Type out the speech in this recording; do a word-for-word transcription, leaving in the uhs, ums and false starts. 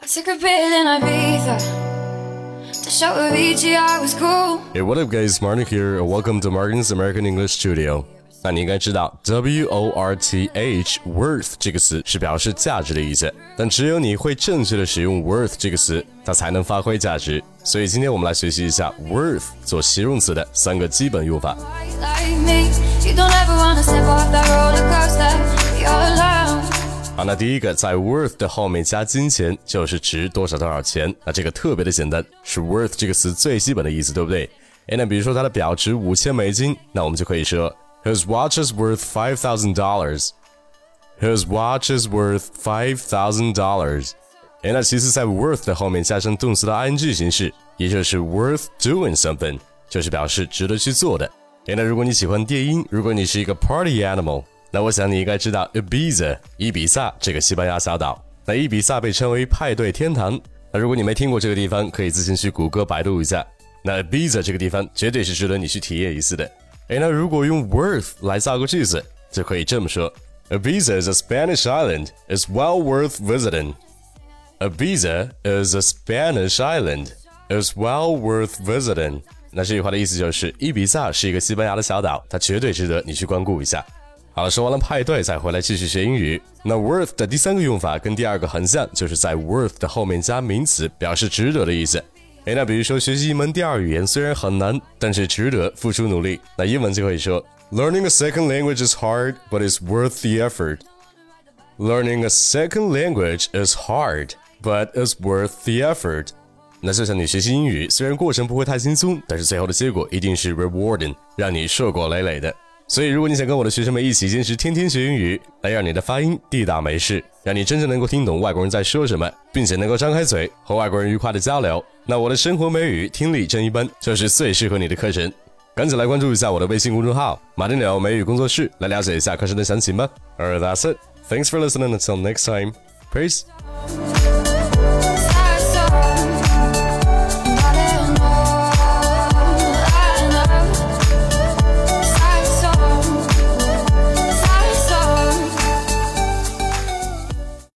I took a pill in Ibiza to show Avicii I was cool. Hey, what up guys, Martin here, and welcome to Martin's American English Studio. 那你应该知道 W O R T H worth 这个词是表示价值的意思，但只有你会正确的使用 worth 这个词，它才能发挥价值。所以今天我们来学习一下 worth 做形容词的三个基本用法。好，那第一个，在 worth 的后面加金钱，就是值多少多少钱。那这个特别的简单，是 worth 这个词最基本的意思，对不对？诶，那比如说它的表值五千美金，那我们就可以说 His watch is worth five thousand dollars. His watch is worth five thousand dollars. 诶，那其次在 worth 的后面加上动词的 ing 形式，也就是 worth doing something， 就是表示值得去做的。诶，那如果你喜欢电音，如果你是一个 party animal，那我想你应该知道 Ibiza 伊比萨这个西班牙小岛。那伊比萨被称为派对天堂。那如果你没听过这个地方，可以自行去谷歌百度一下。那 Ibiza 这个地方绝对是值得你去体验一次的。诶，那如果用 worth 来造个句子，就可以这么说 Ibiza is a Spanish island. It's well worth visiting. Ibiza is a Spanish island. It's well worth visiting. 那这句话的意思就是伊比萨是一个西班牙的小岛，它绝对值得你去光顾一下。好了，说完了派对，再回来继续学英语。那 worth 的第三个用法跟第二个很像，就是在 worth 的后面加名词，表示值得的意思。诶，那比如说学习一门第二语言虽然很难，但是值得付出努力。那英文就可以说 Learning a second language is hard, but it's worth the effort. Learning a second language is hard, but it's worth the effort. 那就像你学习英语，虽然过程不会太轻松，但是最后的结果一定是 rewarding， 让你硕果累累的。所以如果你想跟我的学生们一起坚持天天学英语，来让你的发音地道美式，让你真正能够听懂外国人在说什么，并且能够张开嘴和外国人愉快的交流，那我的生活美语听力真一班就是最适合你的课程。赶紧来关注一下我的微信公众号马丁鸟美语工作室，来了解一下课程的详情吧。 Alright, that's it. Thanks for listening. Until next time. Peace.